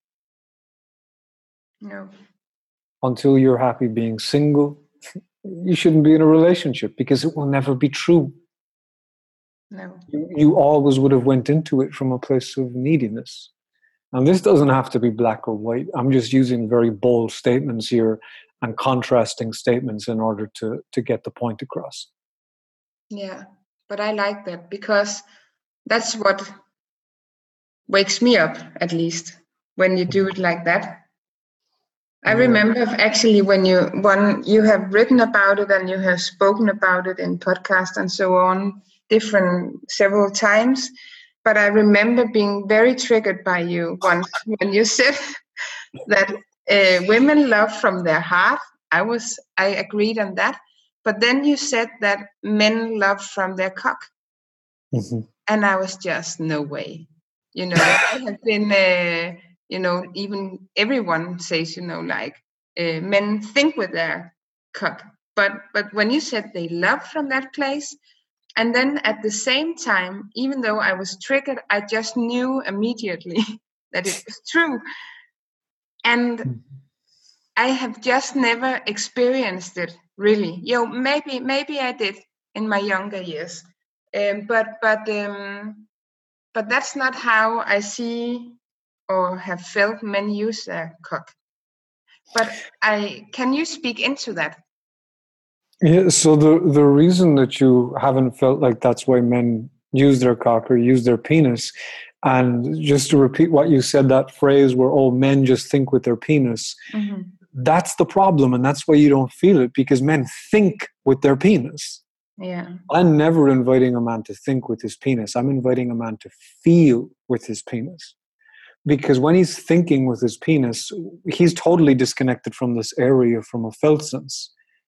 No.
Until you're happy being single, you shouldn't be in a relationship, because it will never be true.
No.
You always would have went into it from a place of neediness. And this doesn't have to be black or white. I'm just using very bold statements here and contrasting statements in order to get the point across.
Yeah, but I like that, because that's what wakes me up, at least, when you do it like that. I remember actually when you have written about it and you have spoken about it in podcasts and so on, several times. But I remember being very triggered by you once when you said that women love from their heart. I agreed on that. But then you said that men love from their cock. And I was just, no way. I have been, even everyone says, like men think with their cock. But when you said they love from that place, and then at the same time, even though I was triggered, I just knew immediately that it was true. And I have just never experienced it, really. Maybe I did in my younger years. But that's not how I see or have felt men use their cock. But can you speak into that?
Yeah, so the reason that you haven't felt like that's why men use their cock or use their penis, and just to repeat what you said, that phrase where all men just think with their penis, that's the problem, and that's why you don't feel it, because men think with their penis.
Yeah.
I'm never inviting a man to think with his penis. I'm inviting a man to feel with his penis. Because when he's thinking with his penis, he's totally disconnected from this area from a felt sense.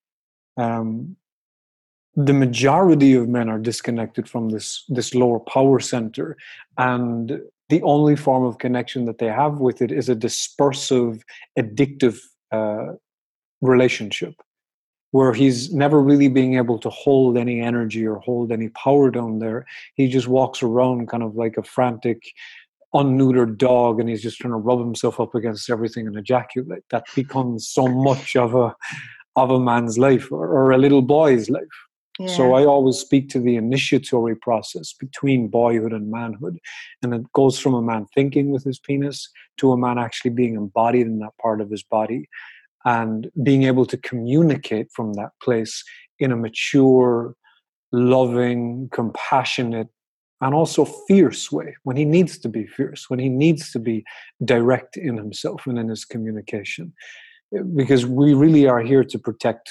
The majority of men are disconnected from this lower power center, and the only form of connection that they have with it is a dispersive, addictive relationship, where he's never really being able to hold any energy or hold any power down there. He just walks around kind of like a frantic, unneutered dog, and he's just trying to rub himself up against everything and ejaculate. That becomes so much of a man's life, or a little boy's life. Yeah. So I always speak to the initiatory process between boyhood and manhood. And it goes from a man thinking with his penis to a man actually being embodied in that part of his body and being able to communicate from that place in a mature, loving, compassionate, and also fierce way, when he needs to be fierce, when he needs to be direct in himself and in his communication. Because we really are here to protect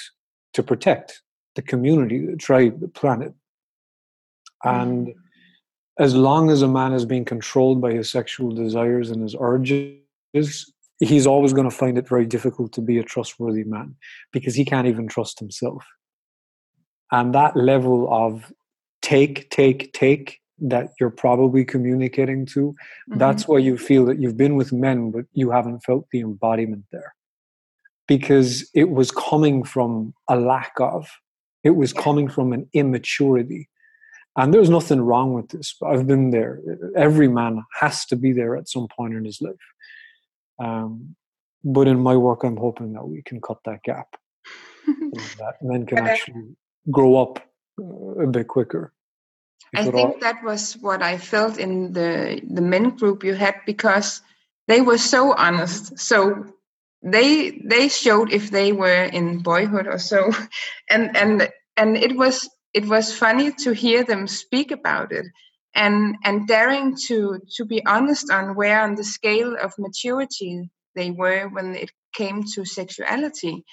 the community, the tribe, the planet. And as long as a man is being controlled by his sexual desires and his urges, he's always going to find it very difficult to be a trustworthy man, because he can't even trust himself. And that level of take that you're probably communicating to, that's why you feel that you've been with men, but you haven't felt the embodiment there. Because it was coming from a lack of, it was coming from an immaturity. And there's nothing wrong with this. I've been there. Every man has to be there at some point in his life. But in my work, I'm hoping that we can cut that gap. That men can actually grow up a bit quicker.
I think that was what I felt in the men group you had, because they were so honest. So they showed if they were in boyhood or so, and it was funny to hear them speak about it, and daring to be honest on where on the scale of maturity they were when it came to sexuality,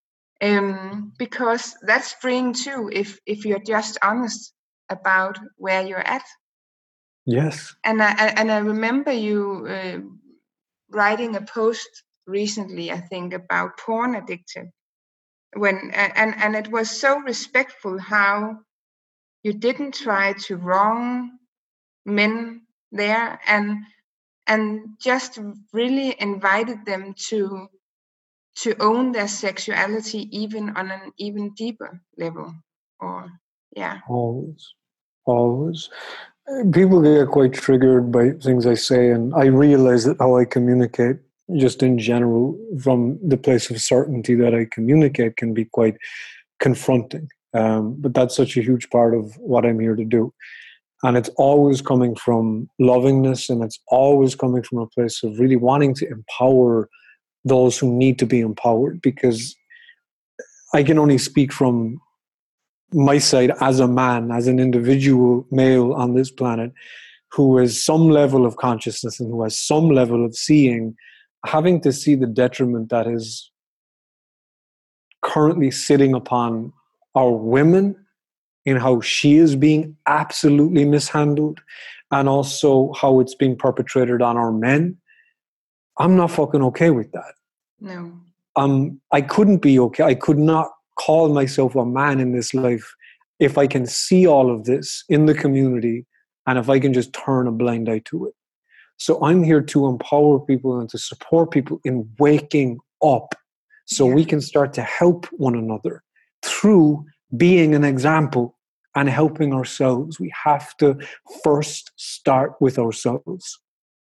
because that's freeing too, if you're just honest about where you're at.
Yes.
And I remember you writing a post recently, I think, about porn addiction. and it was so respectful how you didn't try to wrong men there, and just really invited them to own their sexuality even on an even deeper level. Or yeah.
Always. People get quite triggered by things I say, and I realize that how I communicate, just in general, from the place of certainty that I communicate, can be quite confronting. But that's such a huge part of what I'm here to do. And it's always coming from lovingness, and it's always coming from a place of really wanting to empower those who need to be empowered, because I can only speak from my side as a man, as an individual male on this planet, who has some level of consciousness and who has some level of seeing, having to see the detriment that is currently sitting upon our women in how she is being absolutely mishandled, and also how it's being perpetrated on our men. I'm not fucking okay with that.
No.
I couldn't be okay. I could not call myself a man in this life if I can see all of this in the community and if I can just turn a blind eye to it. So I'm here to empower people and to support people in waking up, so we can start to help one another through being an example and helping ourselves. We have to first start with ourselves.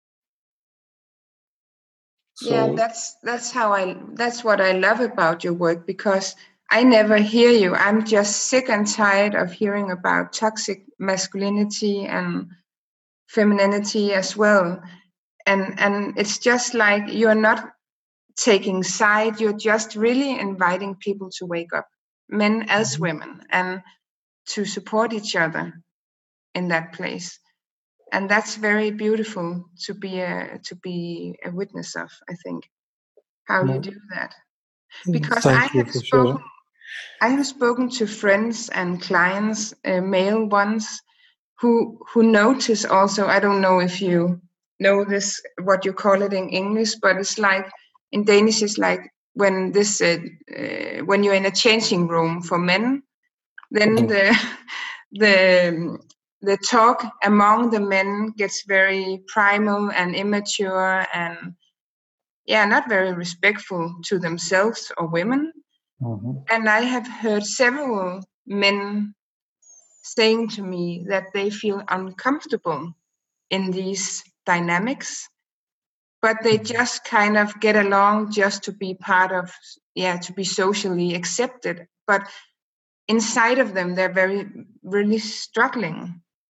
So, that's what I love about your work, because I never hear you. I'm just sick and tired of hearing about toxic masculinity and femininity as well. And it's just like you're not taking side, you're just really inviting people to wake up, men as women, and to support each other in that place. And that's very beautiful to be a witness of, I think, how you do that. Because I have spoken to friends and clients, male ones, who notice also. I don't know if you know this, what you call it in English, but it's like in Danish, it's like when when you're in a changing room for men, then the talk among the men gets very primal and immature and not very respectful to themselves or women. And I have heard several men saying to me that they feel uncomfortable in these dynamics, but they just kind of get along just to be part of, to be socially accepted. But inside of them, they're really struggling.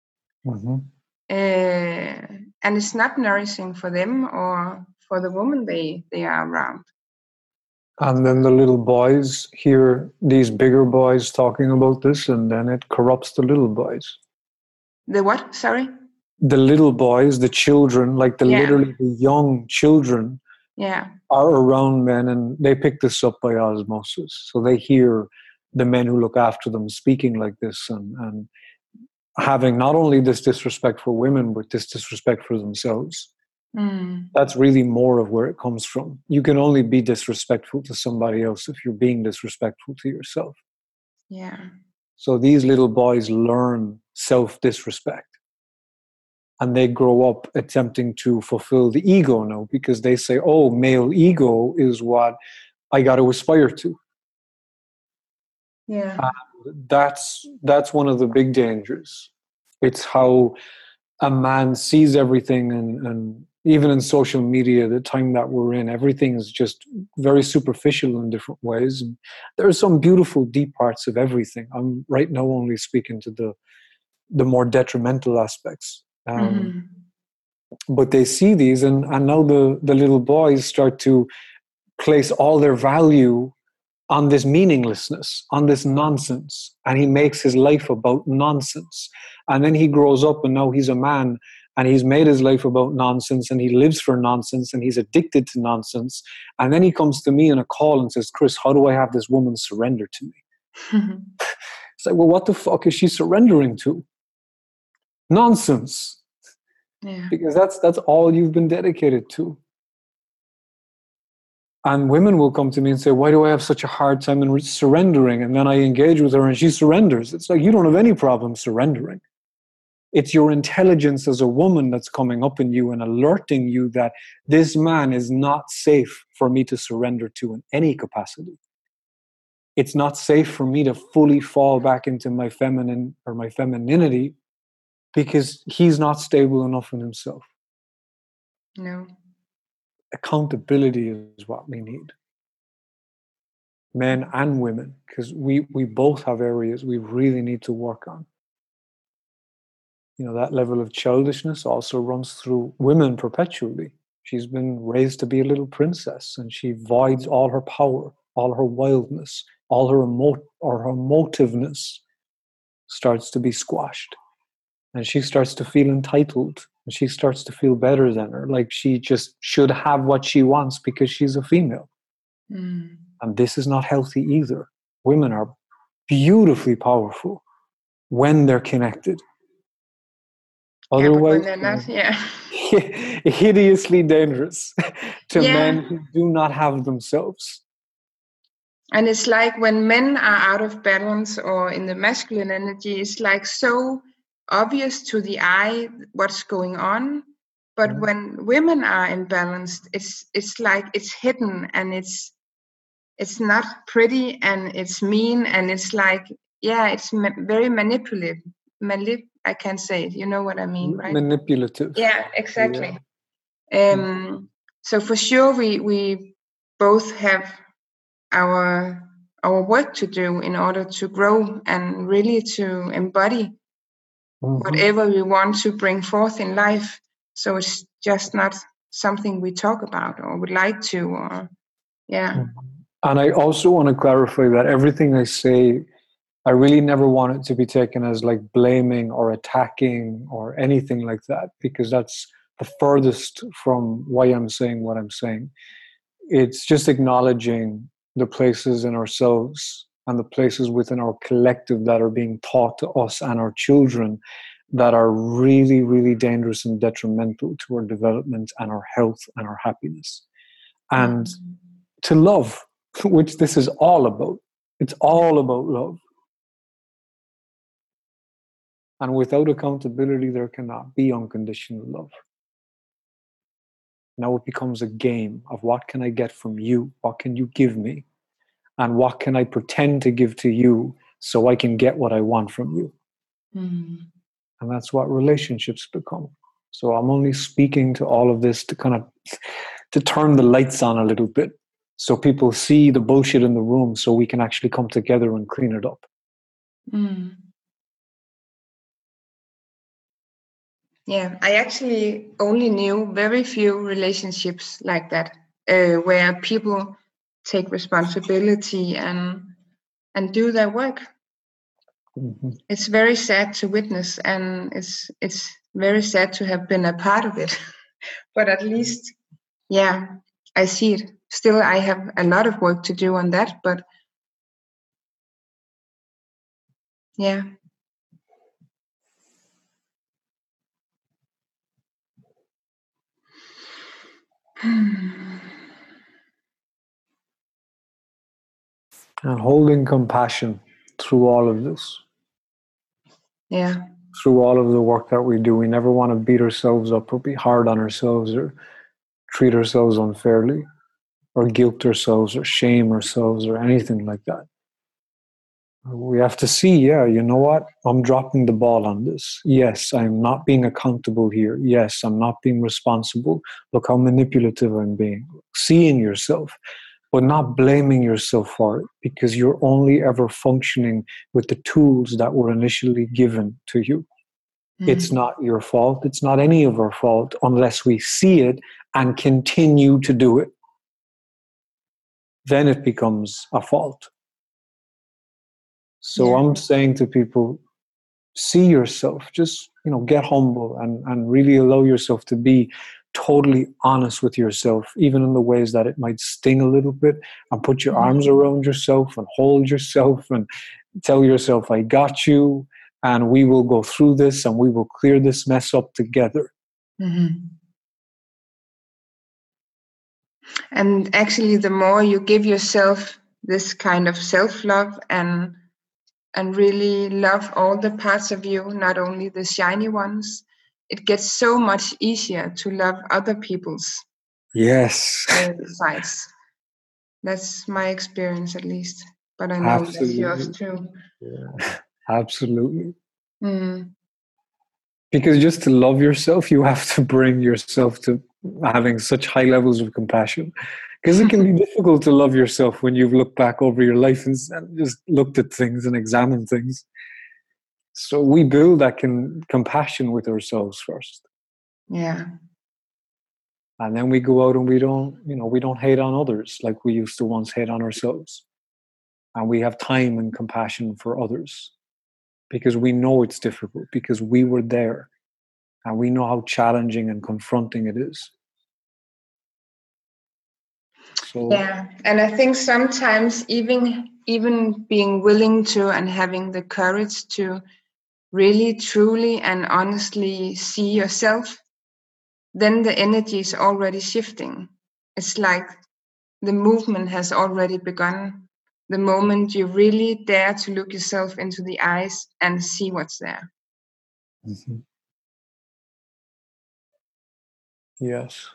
And it's not nourishing for them or for the woman they are around.
And then the little boys hear these bigger boys talking about this, and then it corrupts the little boys.
The what? Sorry?
The little boys, the children, like literally the young children, are around men, and they pick this up by osmosis. So they hear the men who look after them speaking like this, and having not only this disrespect for women, but this disrespect for themselves. That's really more of where it comes from. You can only be disrespectful to somebody else if you're being disrespectful to yourself.
Yeah.
So these little boys learn self-disrespect, and they grow up attempting to fulfill the ego now, because they say, oh, male ego is what I got to aspire to.
Yeah.
That's one of the big dangers. It's how a man sees everything, and even in social media, the time that we're in, everything is just very superficial in different ways. And there are some beautiful, deep parts of everything. I'm right now only speaking to the more detrimental aspects. But they see these, and now the little boys start to place all their value on this meaninglessness, on this nonsense, and he makes his life about nonsense. And then he grows up, and now he's a man, and he's made his life about nonsense, and he lives for nonsense, and he's addicted to nonsense. And then he comes to me in a call and says, Chris, how do I have this woman surrender to me? It's like, well, what the fuck is she surrendering to? Nonsense.
Yeah.
Because that's all you've been dedicated to. And women will come to me and say, why do I have such a hard time in surrendering? And then I engage with her and she surrenders. It's like, you don't have any problem surrendering. It's your intelligence as a woman that's coming up in you and alerting you that this man is not safe for me to surrender to in any capacity. It's not safe for me to fully fall back into my feminine or my femininity because he's not stable enough in himself.
No.
Accountability is what we need. Men and women, because we both have areas we really need to work on. You know, that level of childishness also runs through women perpetually. She's been raised to be a little princess and she voids all her power, all her wildness, all her emotiveness starts to be squashed. And she starts to feel entitled and she starts to feel better than her. Like she just should have what she wants because she's a female.
Mm.
And this is not healthy either. Women are beautifully powerful when they're connected. Otherwise,
but when they're not, yeah.
hideously dangerous to men who do not have themselves.
And it's like when men are out of balance or in the masculine energy, it's like so obvious to the eye what's going on. But when women are imbalanced, it's like it's hidden and it's not pretty and it's mean and it's like, it's very manipulative. I can't say it. You know what I mean, right?
Manipulative.
Yeah, exactly. Yeah. So for sure, we both have our work to do in order to grow and really to embody whatever we want to bring forth in life. So it's just not something we talk about or would like to, or
And I also want to clarify that everything I say, I really never want it to be taken as like blaming or attacking or anything like that, because that's the furthest from why I'm saying what I'm saying. It's just acknowledging the places in ourselves and the places within our collective that are being taught to us and our children that are really, really dangerous and detrimental to our development and our health and our happiness. And to love, which this is all about. It's all about love. And without accountability, there cannot be unconditional love. Now it becomes a game of what can I get from you? What can you give me? And what can I pretend to give to you so I can get what I want from you? And that's what relationships become. So I'm only speaking to all of this to kind of to turn the lights on a little bit so people see the bullshit in the room so we can actually come together and clean it up.
Yeah, I actually only knew very few relationships like that, where people take responsibility and do their work. It's very sad to witness, and it's very sad to have been a part of it. But at least, I see it. Still, I have a lot of work to do on that, but yeah.
And holding compassion through all of this.
Yeah.
Through all of the work that we do. We never want to beat ourselves up or be hard on ourselves or treat ourselves unfairly or guilt ourselves or shame ourselves or anything like that. We have to see, you know what? I'm dropping the ball on this. Yes, I'm not being accountable here. Yes, I'm not being responsible. Look how manipulative I'm being. Seeing yourself, but not blaming yourself for it, because you're only ever functioning with the tools that were initially given to you. It's not your fault. It's not any of our fault unless we see it and continue to do it. Then it becomes a fault. So I'm saying to people, see yourself, just, get humble and really allow yourself to be totally honest with yourself, even in the ways that it might sting a little bit, and put your arms around yourself and hold yourself and tell yourself, I got you, and we will go through this and we will clear this mess up together.
And actually, the more you give yourself this kind of self-love and really love all the parts of you, not only the shiny ones, it gets so much easier to love other people's
Yes.
sides. That's my experience, at least. But I know
Absolutely.
that's yours too.
Yeah. Absolutely.
Mm.
Because just to love yourself, you have to bring yourself to having such high levels of compassion. Because it can be difficult to love yourself when you've looked back over your life and just looked at things and examined things. So we build that compassion with ourselves first.
Yeah.
And then we go out and we don't hate on others like we used to once hate on ourselves. And we have time and compassion for others because we know it's difficult, because we were there and we know how challenging and confronting it is. So,
yeah, and I think sometimes even being willing to and having the courage to really truly and honestly see yourself, then the energy is already shifting. It's like the movement has already begun. The moment you really dare to look yourself into the eyes and see what's there.
mm-hmm. Yes.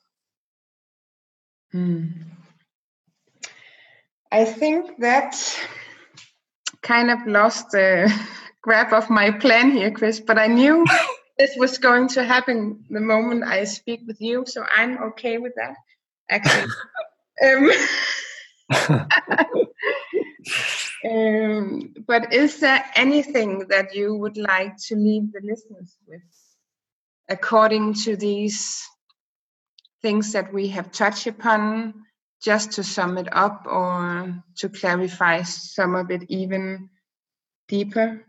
I think that kind of lost the grab of my plan here, Chris, but I knew this was going to happen the moment I speak with you, so I'm okay with that, actually. But is there anything that you would like to leave the listeners with, according to these things that we have touched upon, just to sum it up or to clarify some of it even deeper?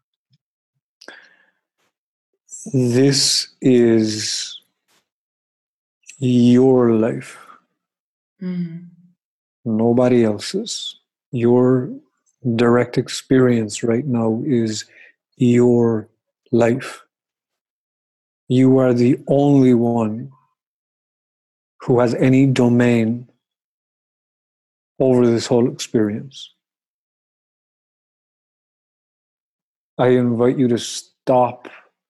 This is your life. Nobody else's. Your direct experience right now is your life. You are the only one who has any domain over this whole experience. I invite you to stop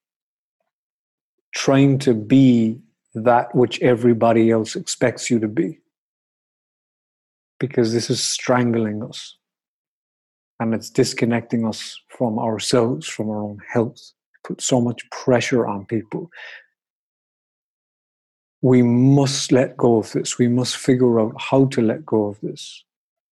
trying to be that which everybody else expects you to be, because this is strangling us and it's disconnecting us from ourselves, from our own health. Put so much pressure on people. We must let go of this. We must figure out how to let go of this.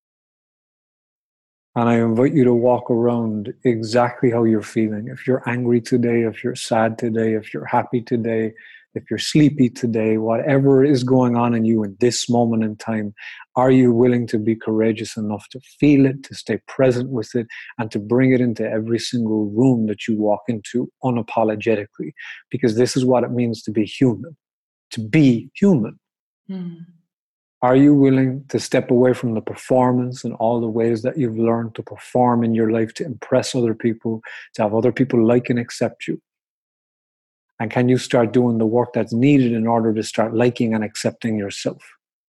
And I invite you to walk around exactly how you're feeling. If you're angry today, if you're sad today, if you're happy today, if you're sleepy today, whatever is going on in you in this moment in time, are you willing to be courageous enough to feel it, to stay present with it, and to bring it into every single room that you walk into unapologetically? Because this is what it means to be human. To be human. Are you willing to step away from the performance and all the ways that you've learned to perform in your life to impress other people, to have other people like and accept you? And can you start doing the work that's needed in order to start liking and accepting yourself?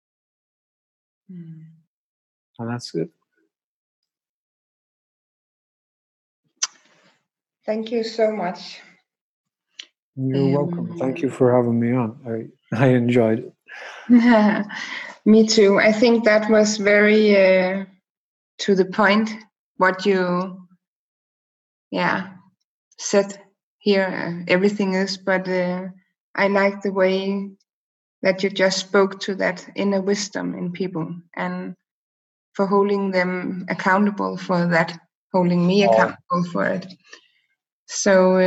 And that's it.
Thank you so much.
You're welcome. Thank you for having me on. I enjoyed it.
Me too. I think that was very to the point what you said here. Everything is, but I like the way that you just spoke to that inner wisdom in people and for holding them accountable for that, holding me accountable for it. So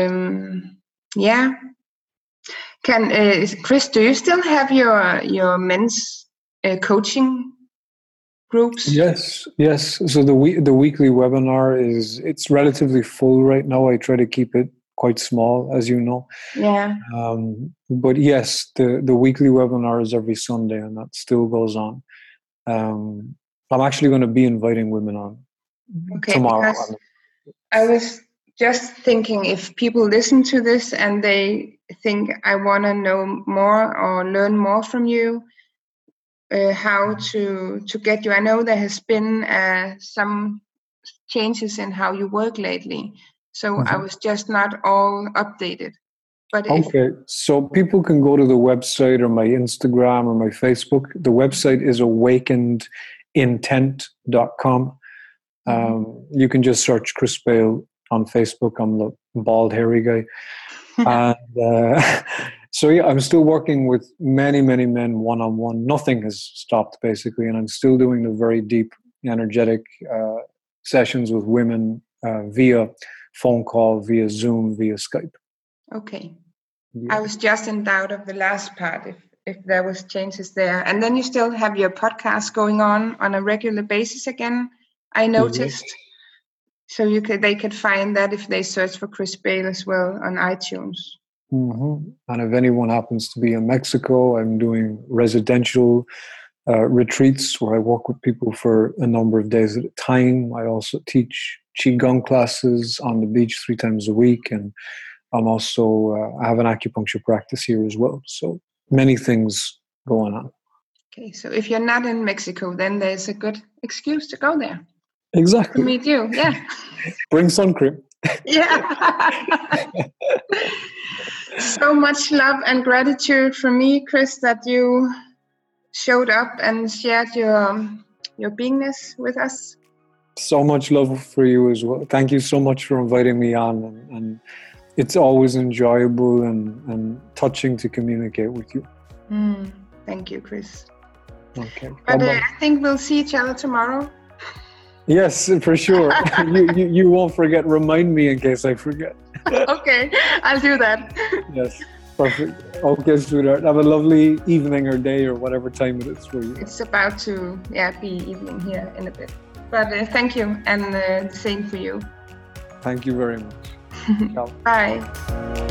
Chris, do you still have your men's coaching groups?
Yes. So the weekly webinar it's relatively full right now. I try to keep it quite small, as you know.
Yeah.
But yes, the weekly webinar is every Sunday, and that still goes on. I'm actually going to be inviting women on tomorrow.
I was just thinking, if people listen to this and they think I want to know more or learn more from you, how to get you. I know there has been some changes in how you work lately, so I was just not all updated. But
okay, so people can go to the website or my Instagram or my Facebook. The website is awakenedintent.com. You can just search Chris Bale on Facebook. I'm the bald, hairy guy. And so, yeah, I'm still working with many, many men one-on-one. Nothing has stopped, basically. And I'm still doing the very deep, energetic sessions with women via phone call, via Zoom, via Skype.
Okay. Yeah. I was just in doubt of the last part, if there was changes there. And then you still have your podcast going on a regular basis again, I noticed. Yes. So they could find that if they search for Chris Bale as well on iTunes.
And if anyone happens to be in Mexico, I'm doing residential retreats where I work with people for a number of days at a time. I also teach Qigong classes on the beach 3 times a week, and I'm also I have an acupuncture practice here as well. So many things going on.
Okay, so if you're not in Mexico, then there's a good excuse to go there.
Exactly.
To meet you, yeah.
Bring sun cream.
Yeah. So much love and gratitude from me, Chris, that you showed up and shared your beingness with us.
So much love for you as well. Thank you so much for inviting me on, and it's always enjoyable and touching to communicate with you.
Thank you, Chris.
Okay.
But I think we'll see each other tomorrow.
Yes, for sure. you won't forget. Remind me in case I forget.
Okay, I'll do that.
Yes, perfect. Okay, sweetheart. Have a lovely evening or day or whatever time it is for you.
It's about to be evening here in a bit. But thank you, and the same for you.
Thank you very much.
Bye.